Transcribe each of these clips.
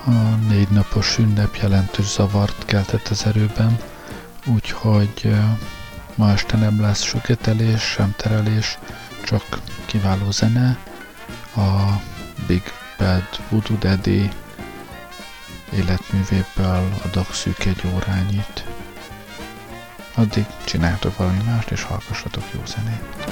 A 4 napos ünnep jelentős zavart keltett az erőben, úgyhogy ma este nem lesz süketelés, sem terelés, csak kiváló zene. A Big Bad Voodoo Daddy életművéből adok szűk egy órányit. Addig csináljatok valami mást, és hallgassatok jó zenét.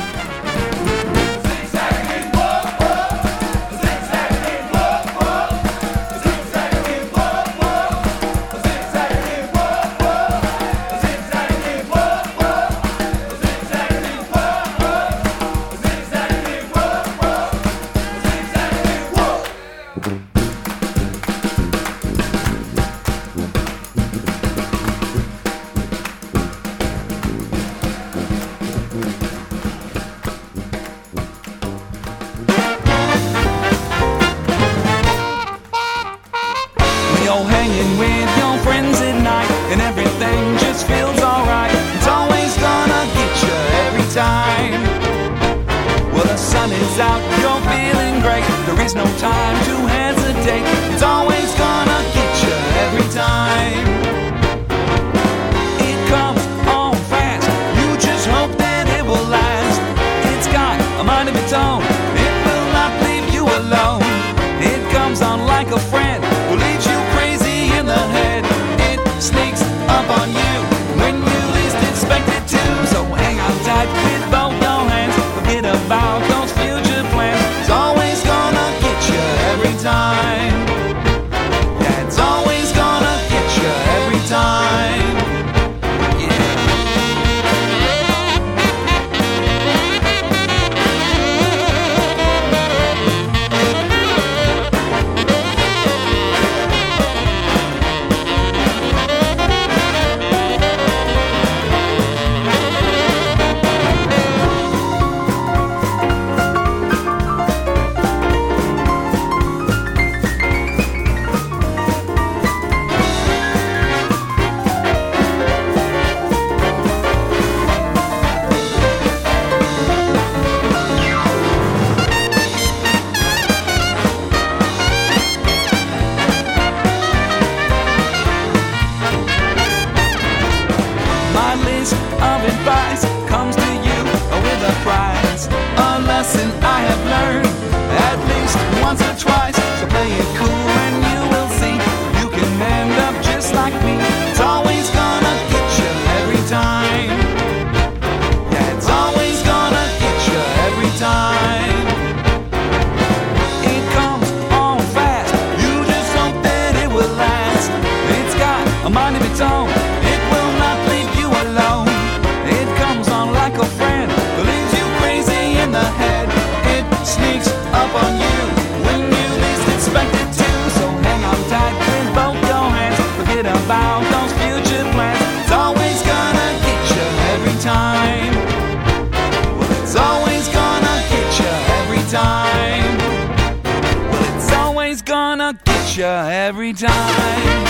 Every time.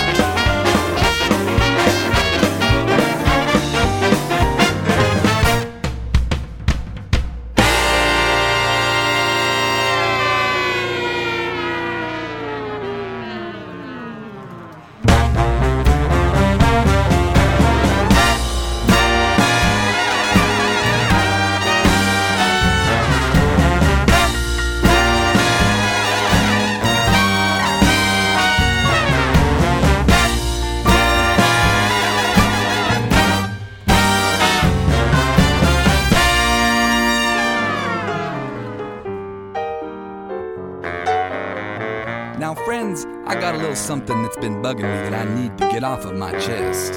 Now friends, I got a little something that's been bugging me that I need to get off of my chest.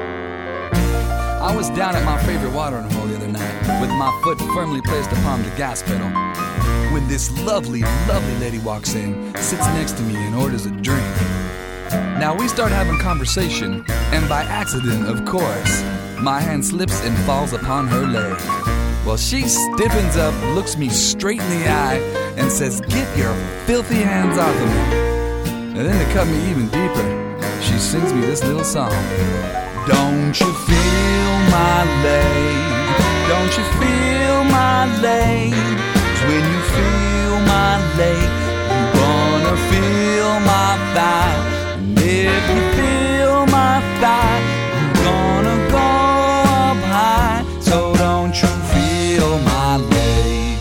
I was down at my favorite watering hole the other night with my foot firmly placed upon the gas pedal when this lovely, lovely lady walks in, sits next to me and orders a drink. Now we start having conversation, and by accident, of course, my hand slips and falls upon her leg. Well, she stiffens up, looks me straight in the eye, and says, "Get your filthy hands off of me." And then to cut me even deeper, she sings me this little song. Don't you feel my leg? Don't you feel my leg? 'Cause when you feel my leg, you wanna feel my thigh, and if you feel my thigh, you're gonna go up high. So don't you feel my leg?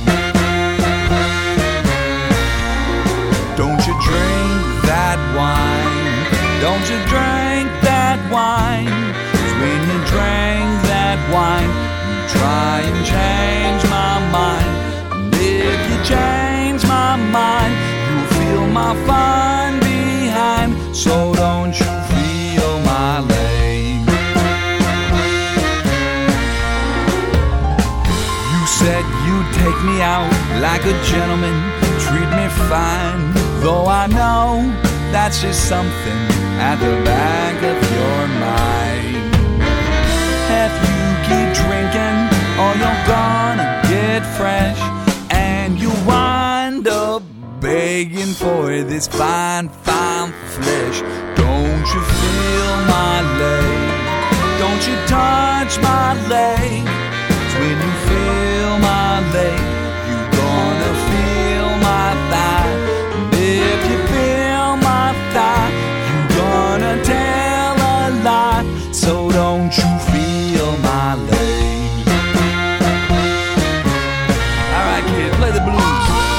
Don't you drink that wine? Don't you drink that wine? 'Cause when you drink that wine, you try and change my mind. And if you change my mind, you'll feel my fun behind. So don't you feel my leg? You said you'd take me out like a gentleman, treat me fine, though I know that's just something at the back of your mind. If you keep drinking, or you're gonna get fresh, and you wind up begging for this fine, fine flesh. Don't you feel my leg? Don't you touch my leg? 'Cause when you feel my leg, you're gonna feel my thigh. And if you feel my thigh, you're gonna tell a lie. So don't you feel my leg? Alright kid, play the blues.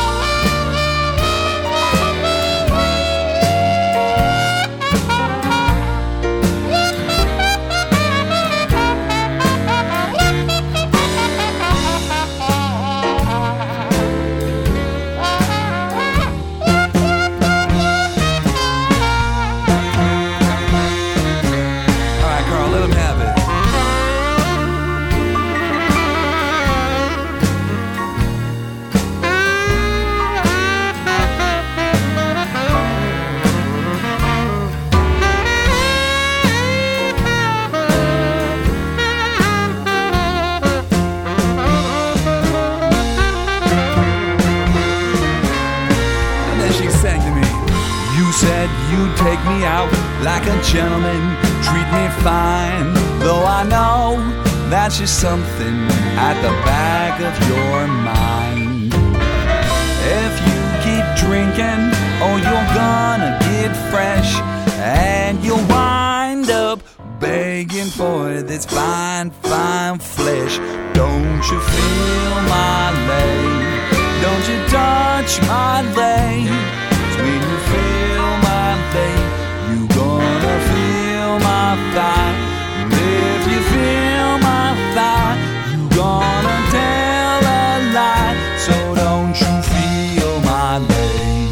Take me out like a gentleman, treat me fine, though I know that's just something at the back of your mind. If you keep drinking, oh, you're gonna get fresh, and you'll wind up begging for this fine, fine flesh. Don't you feel my leg? Don't you touch my leg? 'Cause when you feel my leg, you gonna feel my thigh. And if you feel my thigh, you gonna tell a lie. So don't you feel my leg?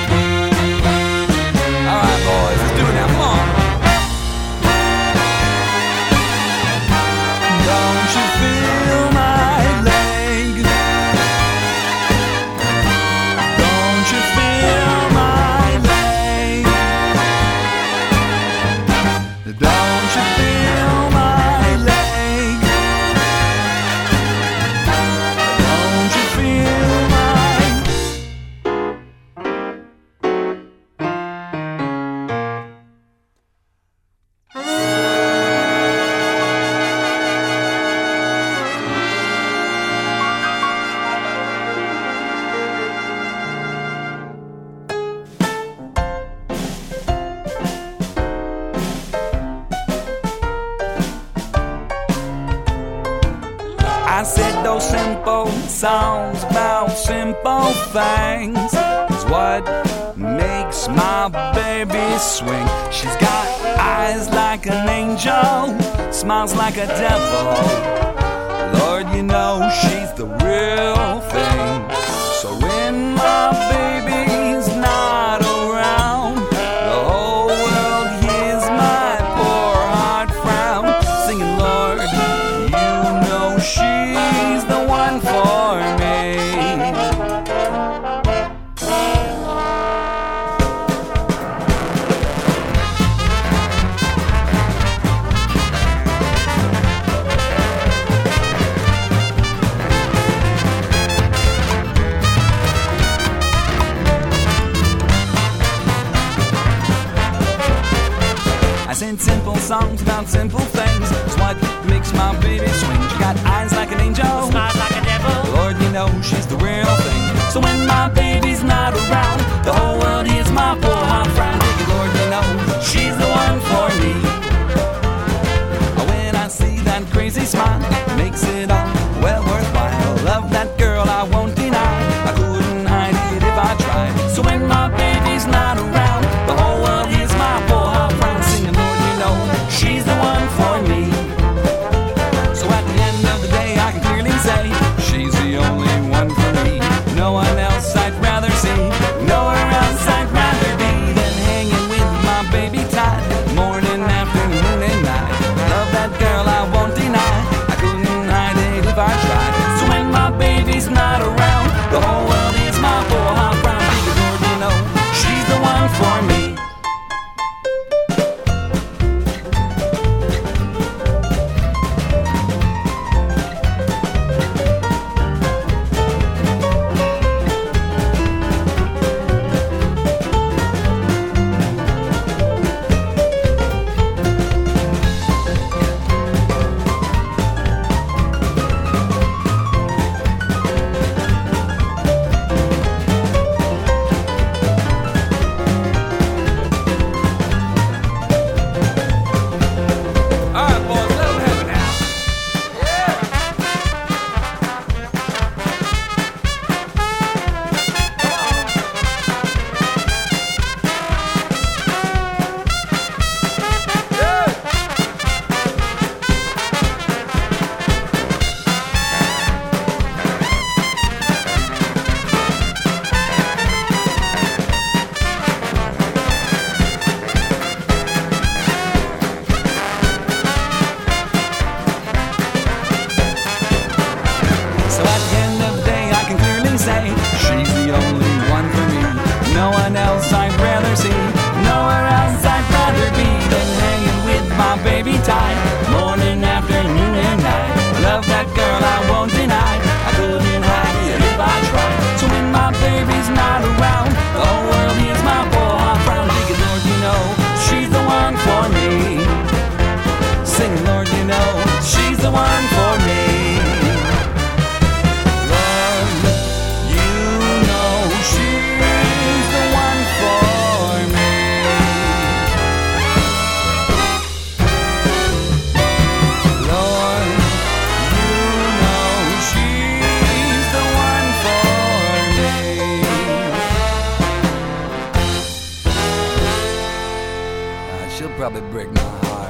Alright boys, let's do it now, come on. Don't you feel my leg? Don't you feel my leg? Don't you feel my leg? Don't you feel my I said those simple songs about simple things is what makes my baby swing. She's got eyes like an angel, smiles like a devil. Lord, you know she's the real thing. So when my baby's not around, the whole world hears my poor heart frown, singing, Lord, you know she's the one for me. I sing simple songs about simple things. It's what makes my baby swing. She got eyes like an angel, Smiles like a devil. Lord, you know she's the real thing. So when my baby's not around, the whole world is my poor hot frown. Thank you, Lord, you know she's the one for me. When I see that crazy smile, it makes it all well worthwhile. Love that girl, I won't deny. I couldn't hide it if I tried. So when my baby's not around, the whole world is my poor hot frown. Singing, Lord, you know she's the one for me. So at the end of the day, I can clearly say she's the only one for me. No one else I'd rather see, nowhere else I'd rather be than hanging with my baby tight, morning, afternoon, and night. Love that girl, I won't deny. I couldn't hide it if I tried. So when my baby's not around, the whole world is my poor hot brown. Because Lord, you know she's the one for me. Probably break my heart.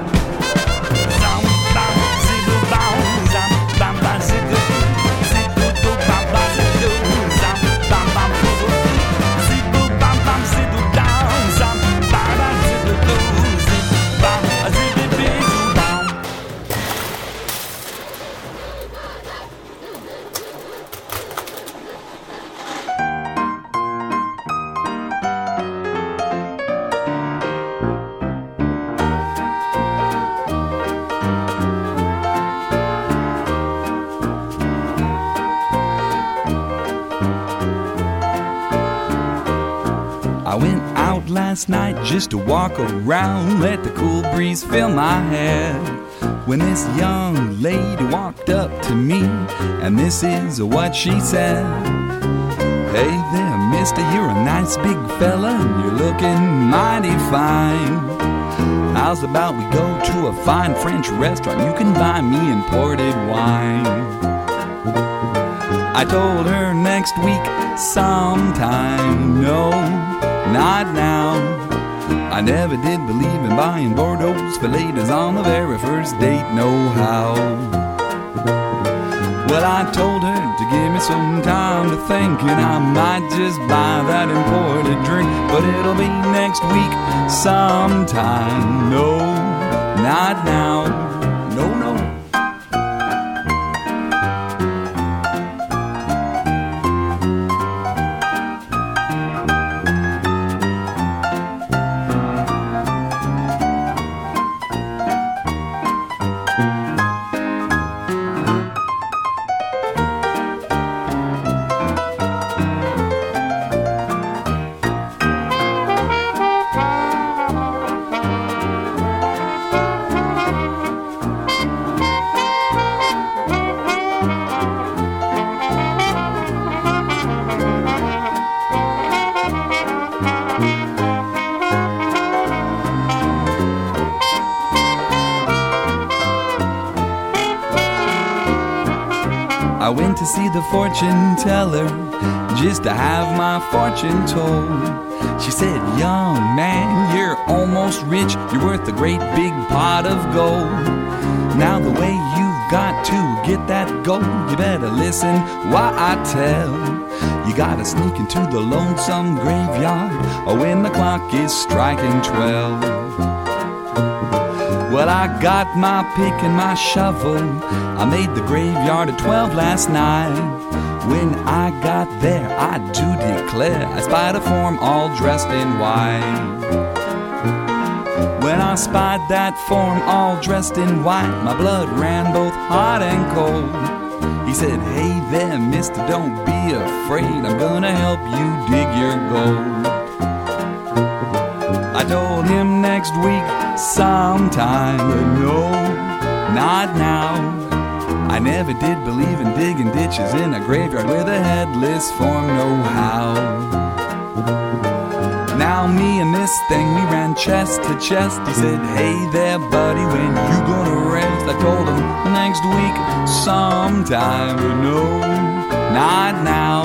I went out last night just to walk around, let the cool breeze fill my hair, when this young lady walked up to me, and this is what she said. Hey there, mister, you're a nice big fella, and you're looking mighty fine. How's about we go to a fine French restaurant? You can buy me imported wine. I told her next week sometime. No, not now. I never did believe in buying Bordeaux's for ladies on the very first date, no how. Well, I told her to give me some time to think, and I might just buy that imported drink, but it'll be next week sometime. No, not now. No, no. to see the fortune teller just to have my fortune told. She said, young man, you're almost rich. You're worth a great big pot of gold. Now the way you've got to get that gold, you better listen while I tell. You gotta sneak into the lonesome graveyard when the clock is striking 12. Well, I got my pick and my shovel. I made the graveyard at 12 last night. When I got there, I do declare I spied a form all dressed in white. When I spied that form all dressed in white, my blood ran both hot and cold. He said, hey there, mister, don't be afraid. I'm gonna help you dig your gold. I told him next week sometime, but no, not now. I never did believe in digging ditches in a graveyard with a headless form, no how. Now me and this thing, we ran chest to chest. He said, hey there, buddy, when you gonna rest? I told him next week sometime, but no, not now.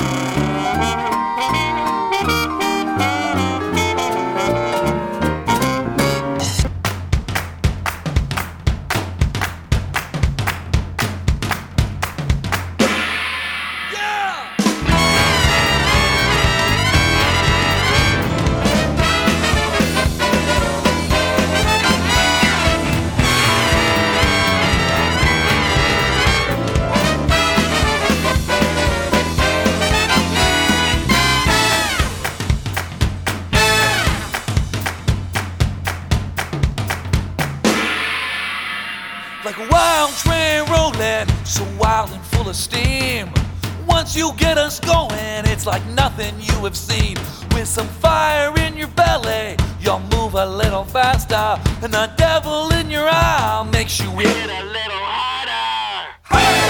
Like a wild train rolling, so wild and full of steam. Once you get us going, it's like nothing you have seen. With some fire in your belly, you'll move a little faster, and the devil in your eye makes you hit a little harder. Hey!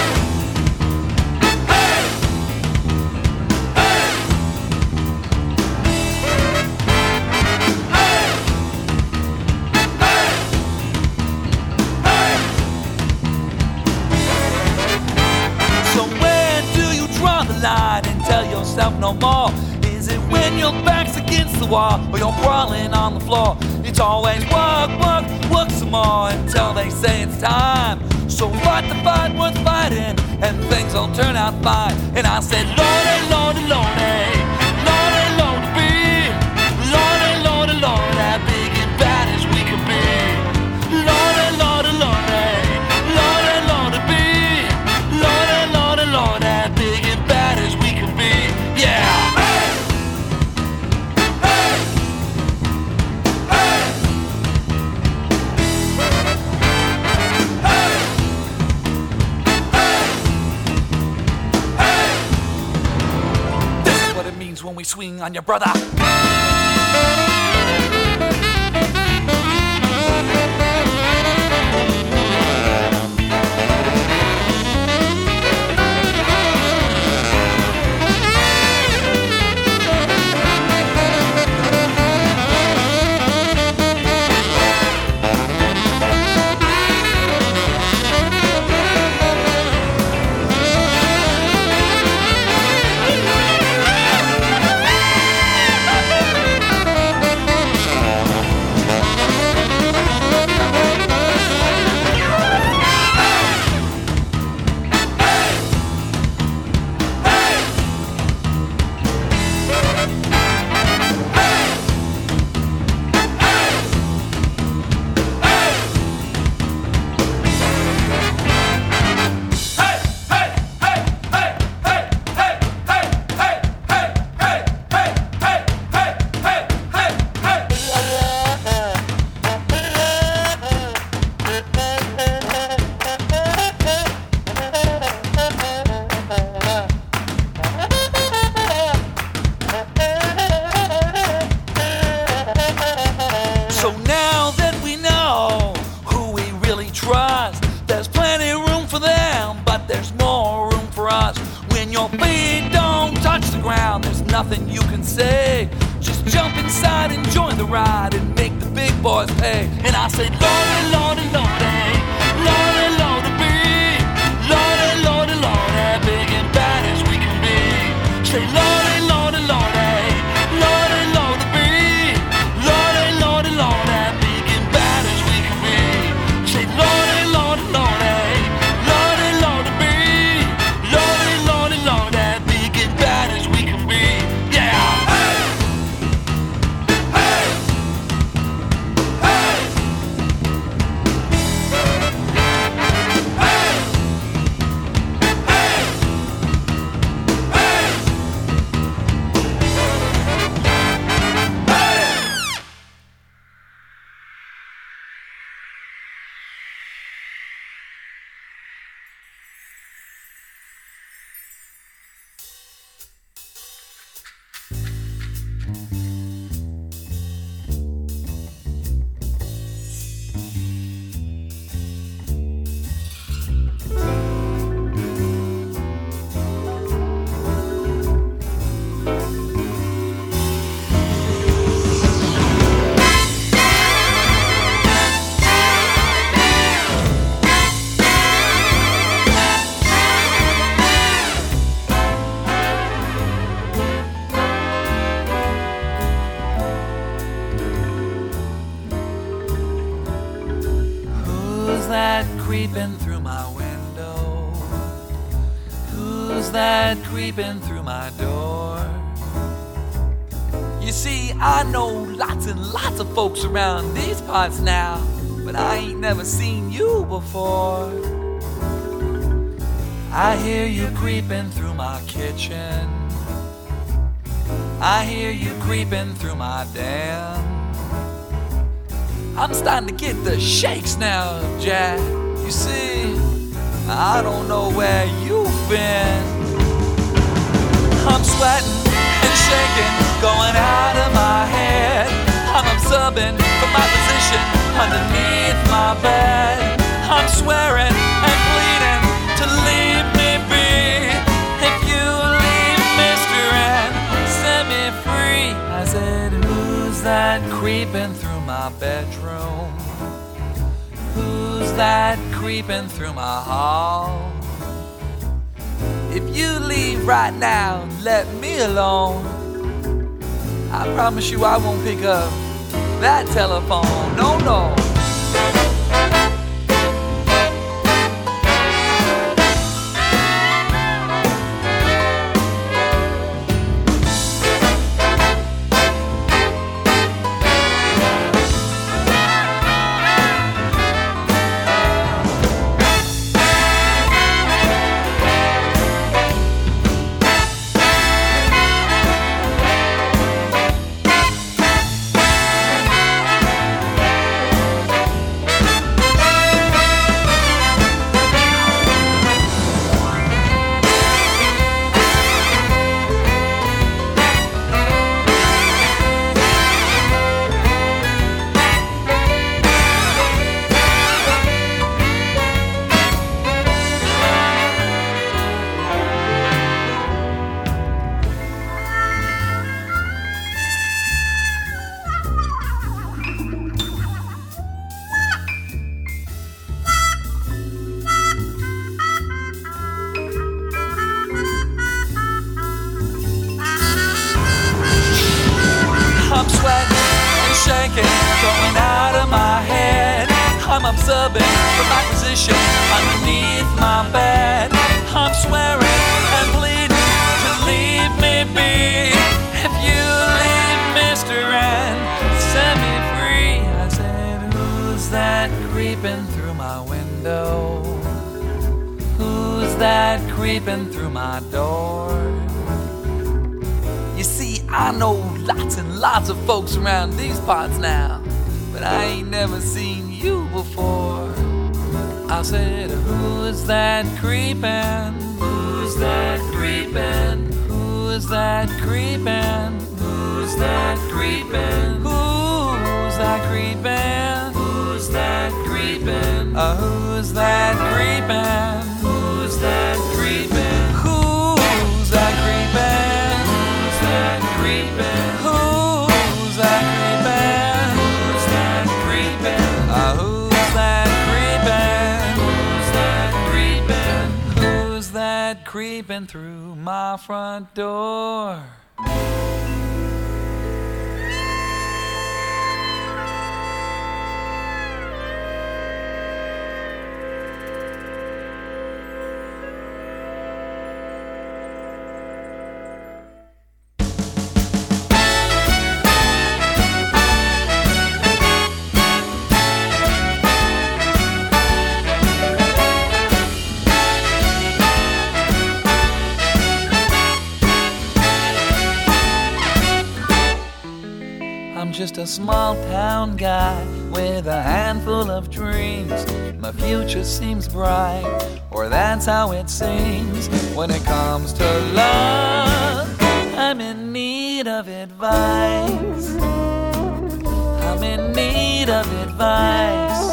And tell yourself no more? Is it when your back's against the wall or you're crawling on the floor? It's always work, work, work some more until they say it's time. So fight the fight worth fighting and things will turn out fine. And I said, Lordy, Lordy, Lordy, Lordy, Lordy, be Lordy, Lordy, Lordy, as big and bad as we could be. Lordy, Lordy, Lordy, Lordy, Lordy, be Lordy, Lordy, Lordy, as big and bad as we could be. Yeah. When we swing on your brother. So now that we know who we really trust, there's plenty of room for them, but there's more room for us. When your feet don't touch the ground, there's nothing you can say. Just jump inside and join the ride and make the big boys pay. And I said, Lordy, Lordy, Lordy, Lordy, Lordy, be Lordy, Lordy, Lordy, be Say, Lordy, Lordy, Lordy, Lordy, Lordy, be. Lordy, Lordy, Lordy, big and bad as we can be. Say, Lordy, Lordy, Lordy, Lordy, Lordy, be. Lordy, Lordy, Lordy, big and bad as we can be. Yeah. Hey! Hey! Hey! Who's that creeping through my window? Who's that creeping through my door? You see, I know lots and lots of folks around these parts now, but I ain't never seen you before. I hear you creeping through my kitchen. I hear you creeping through my den. I'm starting to get the shakes now, Jack. You see, I don't know where you've been. I'm sweating and shaking, going out of my head. I'm observing from my position underneath my bed. I'm swearing and pleading to leave me be. If you leave, Mr. N, set me free. I said, who's that creeping through my bedroom? Who's that creeping through my hall? If you leave right now, let me alone. I promise you I won't pick up that telephone. No, no. I'm sweating and shaking, going out of my head. I'm observing from my position underneath my bed. I'm swearing and pleading to leave me be. If you leave, Mr. N, set me free. I said, who's that creeping through my window? Who's that creeping through my door? You see, I know lots and lots of folks around these parts now, but I ain't never seen you before. I said, who's that creeping? Who's that creeping? Who's that creeping? Who's that creeping? Who's that creeping? Who's that creeping? Who's that creeping? Who's that creeping? Who's that creeping? Who's that creeping? Who's that creeping? Who's that creeping? Who's that creeping? Who's that creeping? creeping through my front door. Just a small town guy with a handful of dreams. My future seems bright, or that's how it seems. When it comes to love, I'm in need of advice. I'm in need of advice.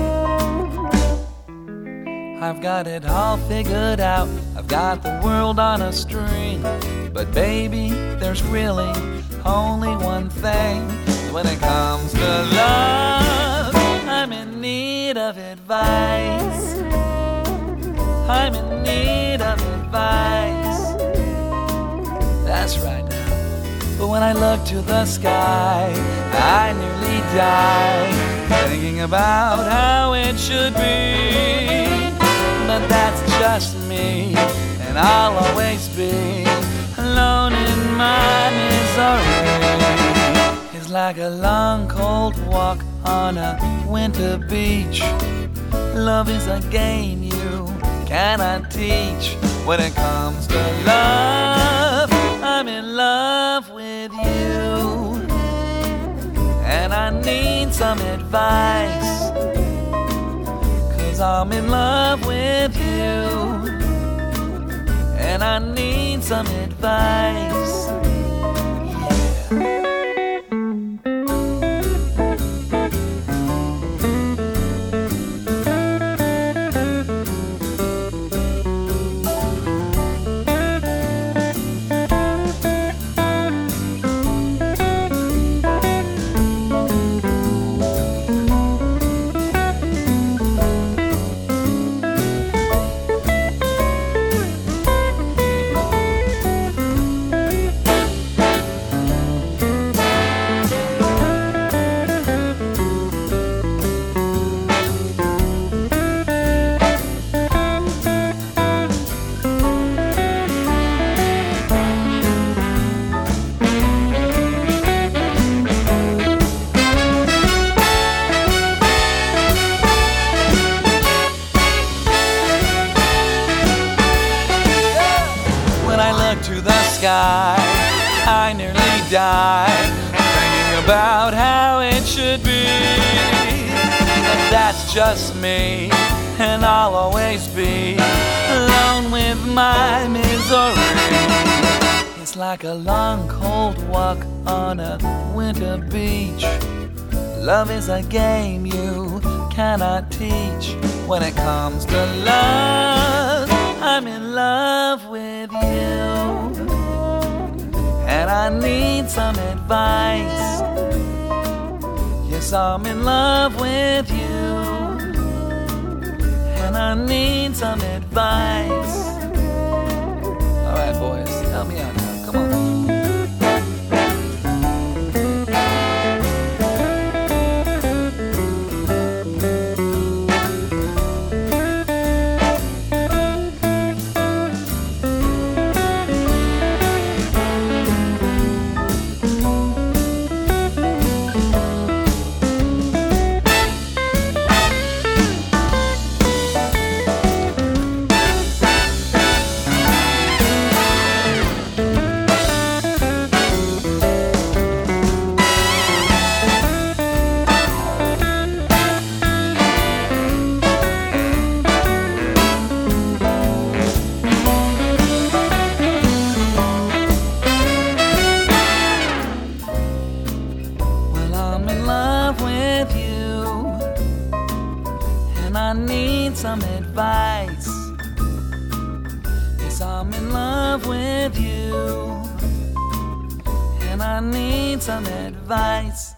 I've got it all figured out. I've got the world on a string. But baby, there's really only one thing. When it comes to love, I'm in need of advice. I'm in need of advice. That's right now. But when I look to the sky, I nearly die, thinking about how it should be. But that's just me, and I'll always be alone in my misery. It's like a long cold walk on a winter beach. Love is a game you cannot teach. When it comes to love, I'm in love with you, and I need some advice, 'cause I'm in love with you, and I need some advice. Yeah. I nearly died, thinking about how it should be. But that's just me, and I'll always be alone with my misery. It's like a long cold walk on a winter beach. Love is a game you cannot teach. When it comes to love, I'm in love with you, and I need some advice. Yes, I'm in love with you, and I need some advice. All right, boys, help me out now. Come on. I need some advice. Yes, I'm in love with you, and I need some advice.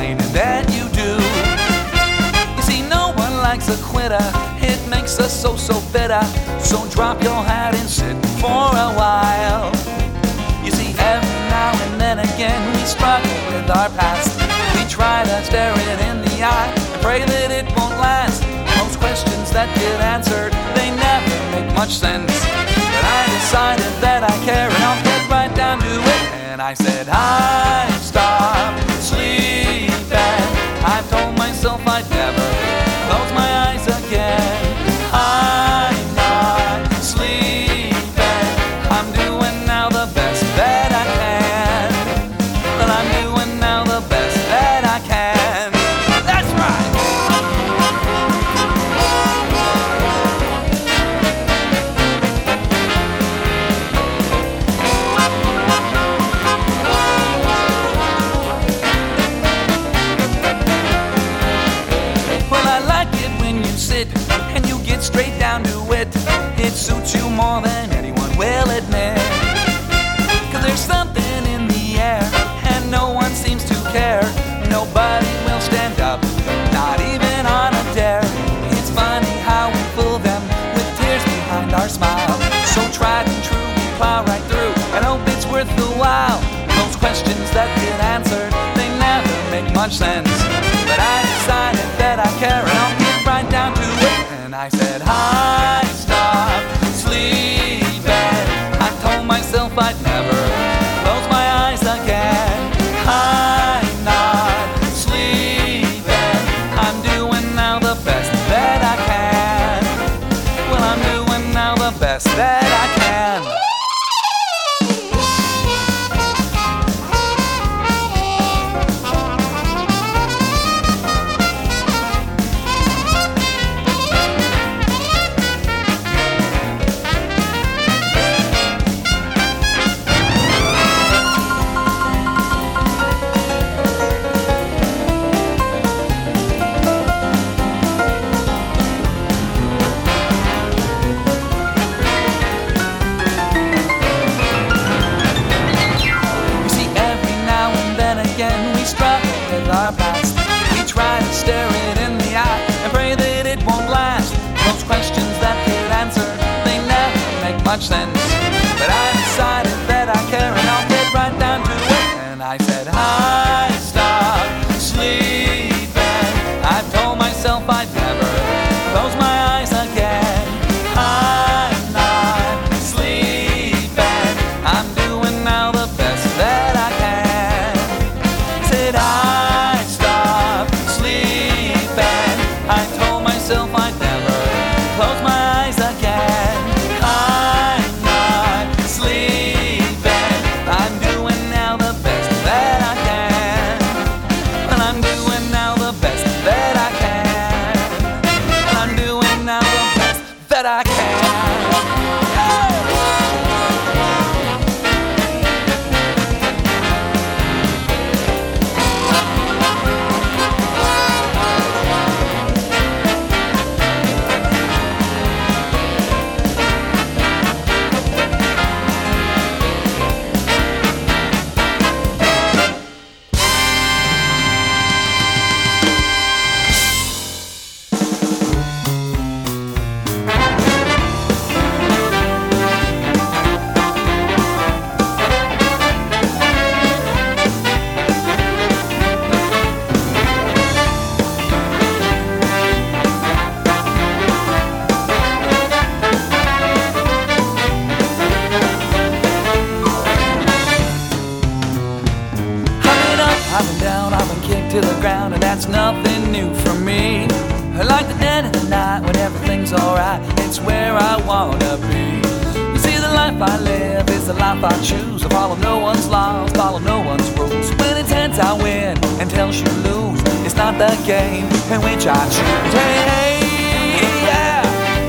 complaining that you do. You see, no one likes a quitter. It makes us so bitter. So drop your hat and sit for a while. You see, every now and then again we struggle with our past. We try to stare it in the eye and pray that it won't last. Most questions that get answered, they never make much sense. But I decided that I care and I'll get right down to it. And I said, I stopped sleeping. I've told myself I'd never close my eyes again. I'm not sleeping. I'm doing now the best that I can. But I'm doing now the best that I can. That's right. Well, I like it when you sit and you get straight down to it. It suits you more than anyone will admit. 'Cause there's something in the air and no one seems to care. Nobody will stand up, not even on a dare. It's funny how we fool them with tears behind our smile. So tried and true, we plow right through and hope it's worth the while. Those questions that get answered, they never make much sense. But I decided that I care and I'll get right down to it. And I said, I stopped sleeping. I told myself I'd never close my eyes again. I'm not sleeping. I'm doing now the best that I can. Well, I'm doing now the best that I can. Our past. We try to stare it in the eye and pray that it won't last. Those questions that get answered, they never make much sense. But I decided that I care and I'll get right down to it. And I said, I stopped sleeping. I told myself I'd never close my eyes again. I'm not sleeping. I'm doing now the best that I can. Said I told myself I'd never close my eyes again. I'm not sleeping. I'm doing now the best that I can. And I'm doing now the best that I can. I'm doing now the best that I can. To the ground, and that's nothing new for me. I like the dead of the night when everything's alright. It's where I wanna be. You see, the life I live is the life I choose. I follow no one's laws, follow no one's rules. When it's heads I win and tails you lose. It's not the game in which I choose. Hey, hey, yeah.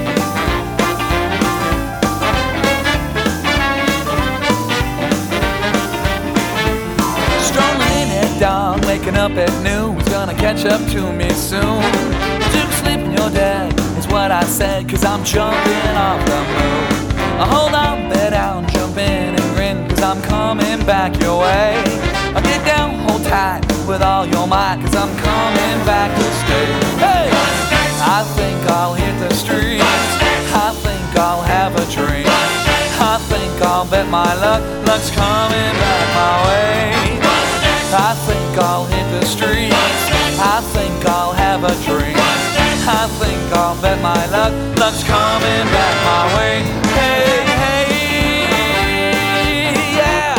Strolling at dawn, waking up at noon. It's gonna catch up to me soon. Took sleep in your dead is what I said, 'cause I'm jumping off the moon. Hold on, bet down, jump in and grin, 'cause I'm coming back your way. Get down, hold tight with all your might, 'cause I'm coming back to stay. Hey! I think I'll hit the street. I think I'll have a drink. I think I'll bet my luck's coming back my way. I think I'll hit the street. I think I'll have a drink. I think I'll bet my luck's coming back my way. Hey, hey, yeah.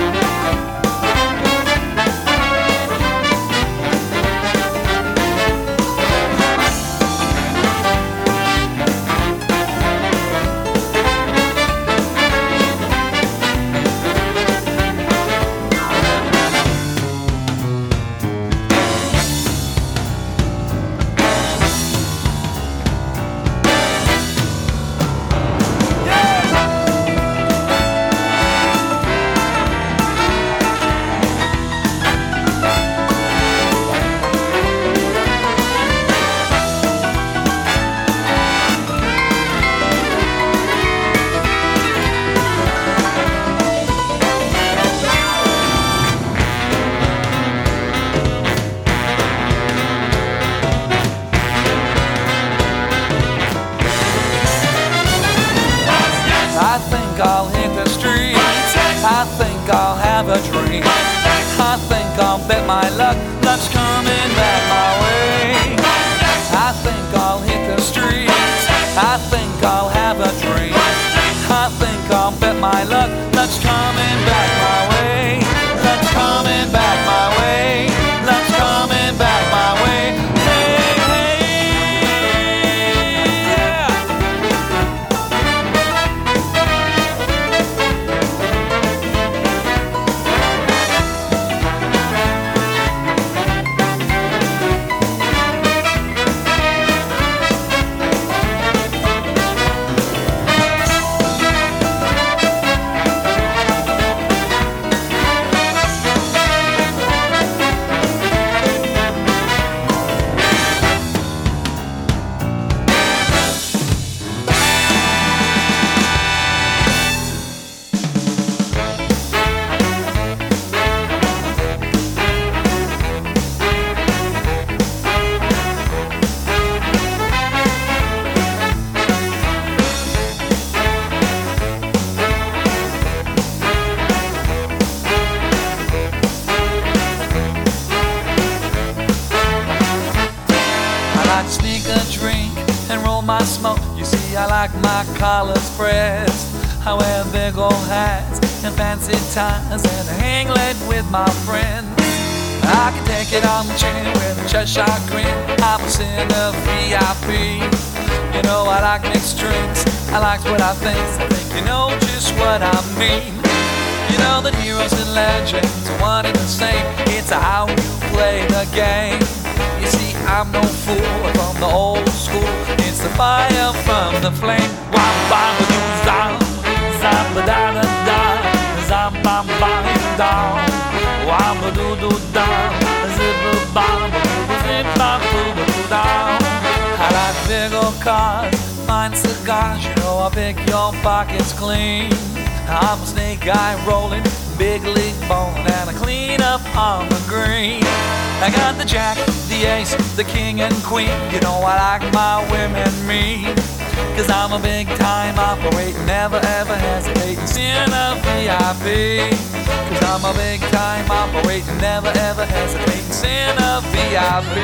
I think I'll hit the street. I think I'll have a drink. I think I'll bet my luck's coming back my way. I think I'll hit the street. I think I'll have a drink. I think I'll bet my luck's coming back my way. Luck's coming back my way. Luck's coming back my way. Hey, hey, yeah. Sneak a drink and roll my smoke. You see, I like my collars pressed. I wear big old hats and fancy ties and I hang late with my friends. I can take it on the chin with a Cheshire grin. I'm a sinner VIP. You know I like mixed drinks. I like what I think. I think you know just what I mean. You know that heroes and legends are one and the same. It's how you play the game. You see, I'm no fool from the old school. It's the fire from the flame. Wham bam ba doo zam, zam ba da da da, zam bam bam down. Wham ba doo doo down, zip ba bam ba doo zip bam boo ba doo down. I like big old cars, fine cigars. You know I pick your pockets clean. I'm a snake eye rolling, big league bowling, and I clean up on the green. I got the jack, the ace, the king and queen. You know I like my women mean, 'cause I'm a big time operator, never ever hesitating, seeing a VIP. 'Cause I'm a big time operator, never ever hesitating, seeing a VIP.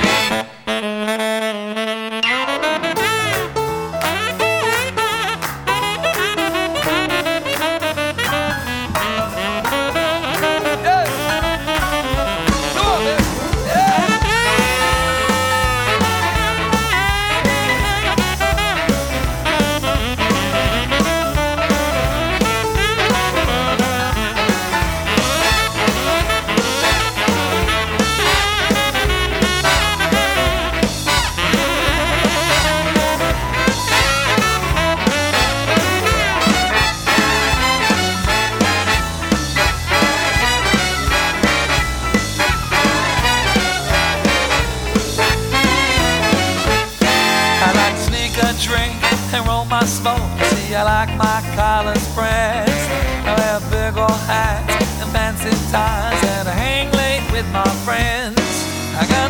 Drink and roll my smoke. See, I like my collars pressed. I wear big old hats and fancy ties, and I hang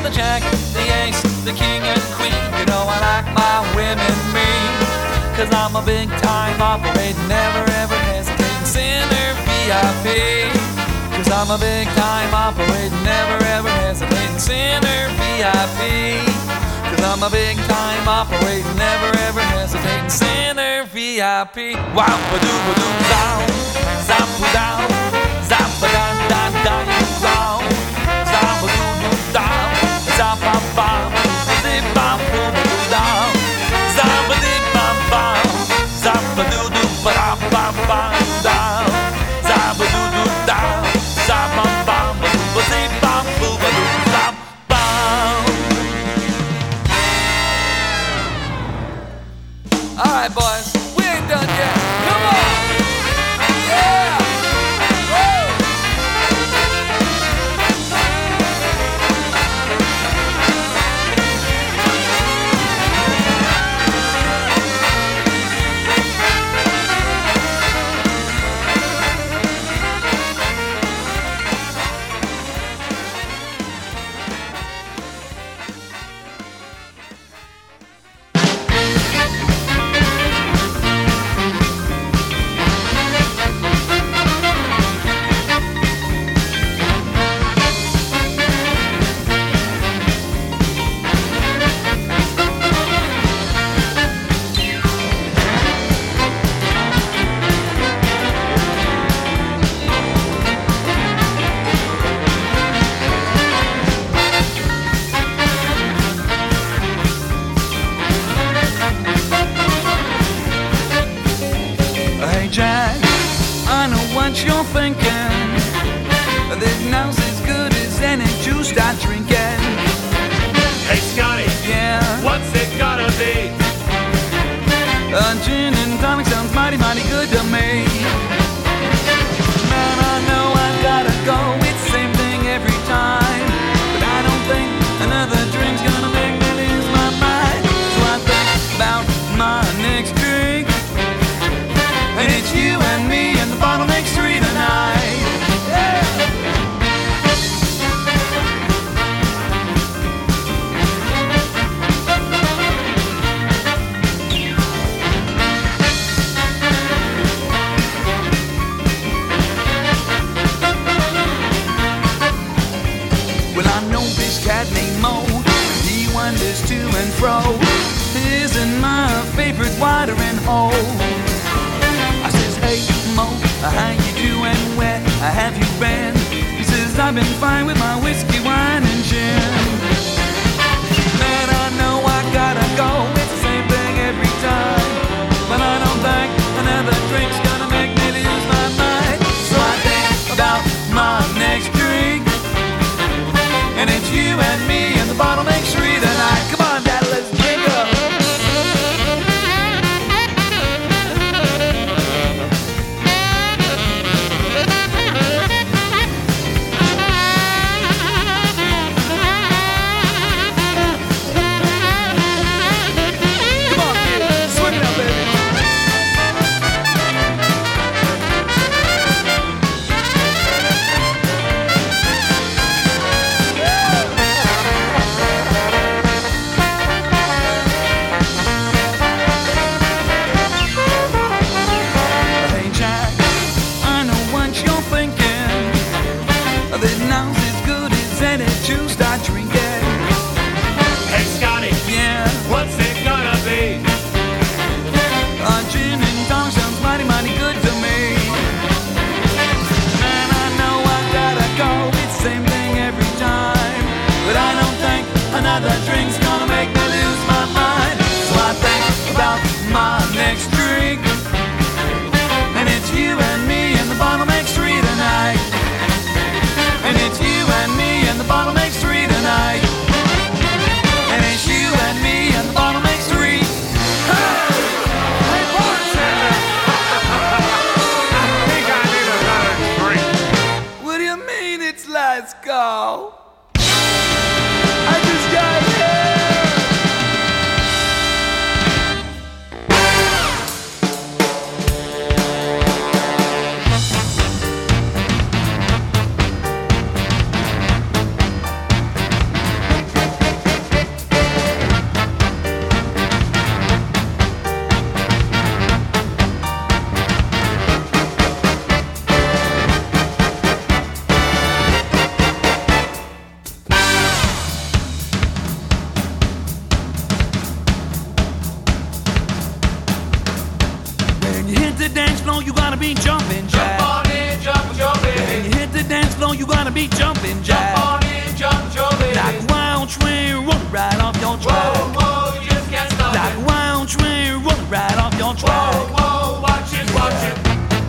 the jack, the ace, the king and queen. You know I like my women mean, 'cause I'm a big time operating, never ever hesitating sinner VIP. 'Cause I'm a big time operating, never ever hesitating sinner VIP. 'Cause I'm a big time operating, never ever hesitating sinner VIP. Wow, ba-doo, ba-doo, down, zap, down, zap, down, down, down, down, zap, ba-doo, down, zap, bam, bam, zip, bam, boom, down, zap, ba-dee, bam, bam, zap, ba-doo, ba-dam, bam, bam, down, zap, ba-doo, down, zap, bam, bam, ba-zip, bam, boom, ba-doo, zap, bam. All right, boys, we ain't done yet. Come on! Yeah! Woo! Hey Jack, I know what you're thinking. This now's as good as any juice I drinking. Hey Scotty, Yeah, what's it gotta be? Gin and tonic sounds mighty, mighty good to me. Man, I know I gotta go. It's the same thing every time, but I don't think another drink's gonna make me lose my mind. So I think about my next drink, and it's you and me and the bottle makes three tonight. Yeah. Well, I know this cat named Mo, he wanders to and fro, isn't my favorite watering hole. I says, hey Mo, how you doing? Where have you been? He says, I've been fine with my whiskey, wine and gin. Man, I know I gotta go. It's the same thing every time, but I don't think another drink's gonna make me lose my mind. So I think about my next drink, and it's you and me and the bottle makes three tonight. Come on, Dad, let's drink up. Come on, kid, swing it up, baby. Hey Jack, I know what you're thinking. This now's as good as any juice I drink it. Hey Scotty, Yeah, what's it gonna be? gin and tonic sounds mighty, mighty good to me. Man, I know I gotta go. It's the same thing every time, but I don't think another drink's gonna make me lose my mind. So I think about my next drink, and it's you and me and the bottle makes three tonight. And it's you and me and the bottle makes three tonight. And it's you and me and the bottle makes three. Hey! Hey, bartender! I think I need another drink. What do you mean it's last call? I just got here. be jumping jack. Jump on in, jump, Joey. Like a wild train running right off your track. Whoa, whoa, you just can't stop Like it. a wild train running right off your track. Whoa, whoa, watch it, watch it.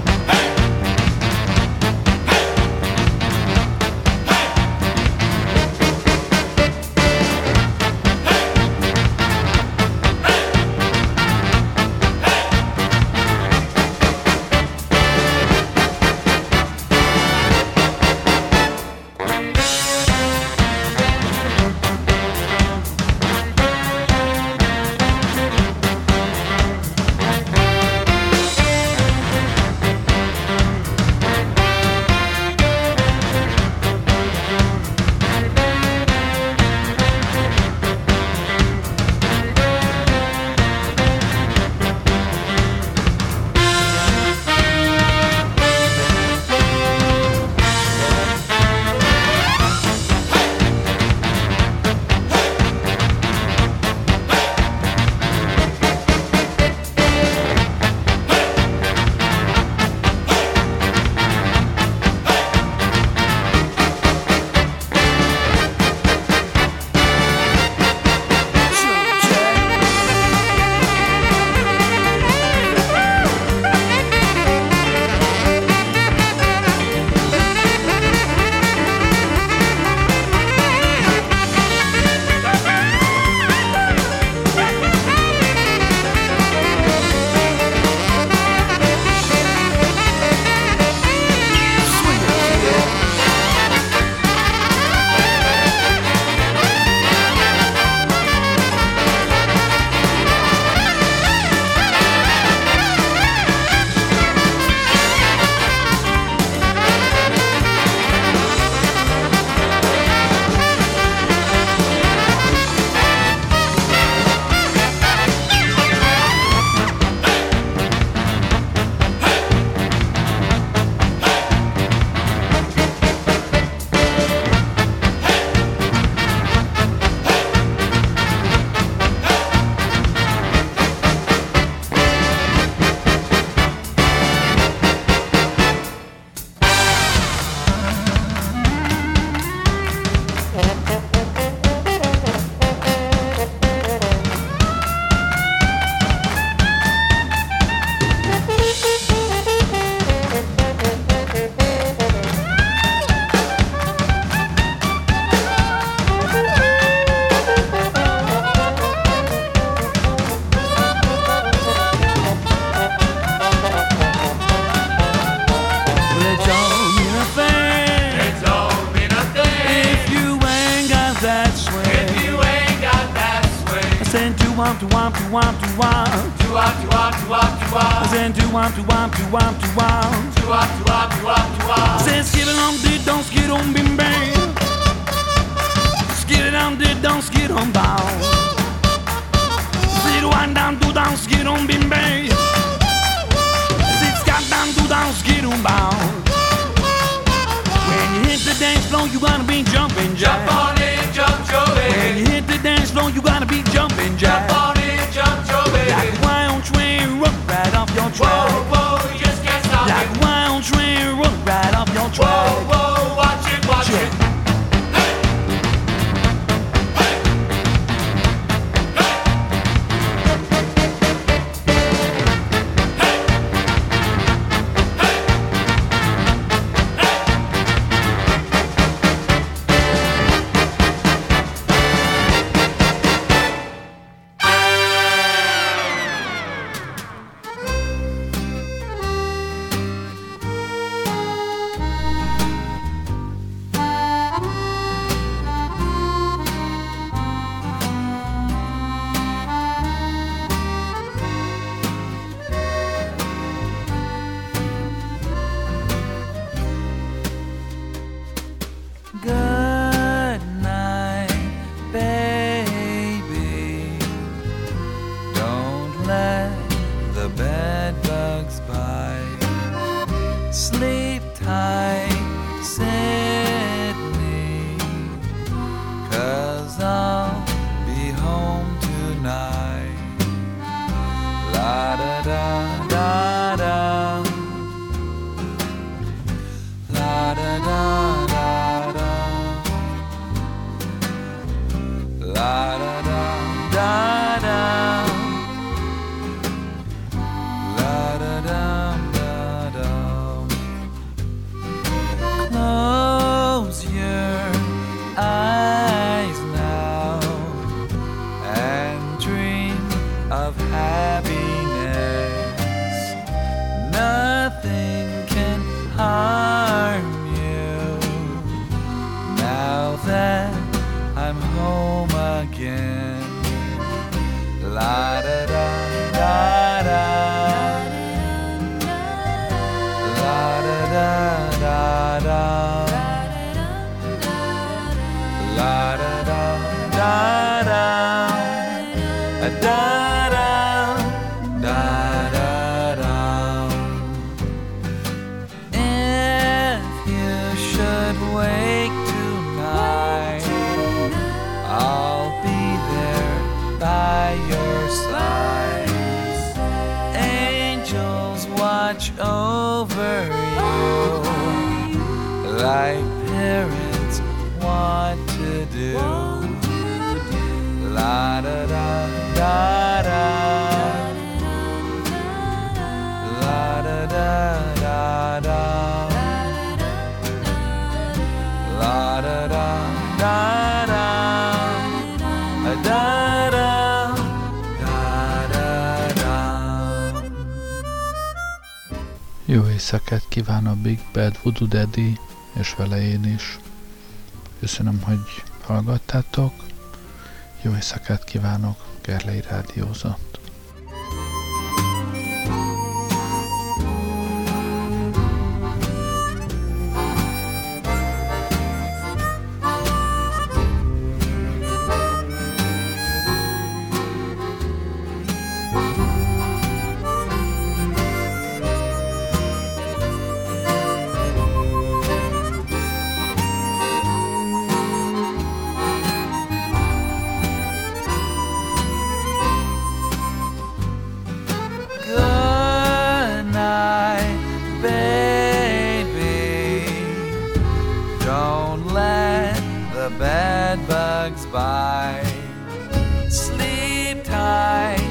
womp to womp to womp to womp. To womp to womp to womp to womp. I said to womp to womp to womp to womp. To womp to womp to womp to womp. I said skid it on did don't skid on bim bam. Skid it on did don't skid on bow. Sit one down do down skid on bim bam. Sit scat down do down skid on bow. When you hit the dance floor you gotta be jumping jack. Jump on in, jump Joey. When you hit the dance floor you gotta be jumping jack. Jump on in, jump Joey. Like a wild train run right off your track. Whoa, whoa, you just can't stop Like it. a wild train run right off your track. Whoa, whoa, watch it, watch Yeah. it. again. La da da da da. La da da da da. La da da da da. Da da da da da. If you should wake tonight, I'll be there by your side. Angels watch over you like parents want to do. La da da da da. La da da da da. La da da da da. Da da da da. Jó éjszakát kíván a Big Bad Voodoo Daddy, és vele én is. Köszönöm, hogy hallgattátok. Jó éjszakát kívánok, Gerlei rádiózott. Bad bugs bite. Sleep tight,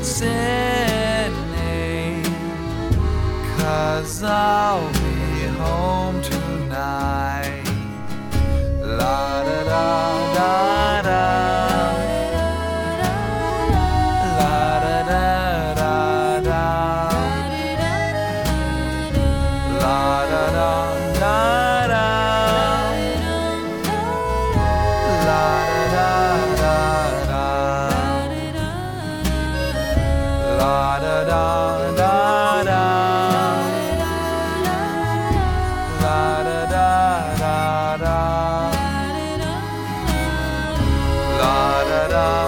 Sydney, 'cause I'll be home tonight. La da da da da. La da da da da. La da da da da. La da da da da. La da da da da. La da da.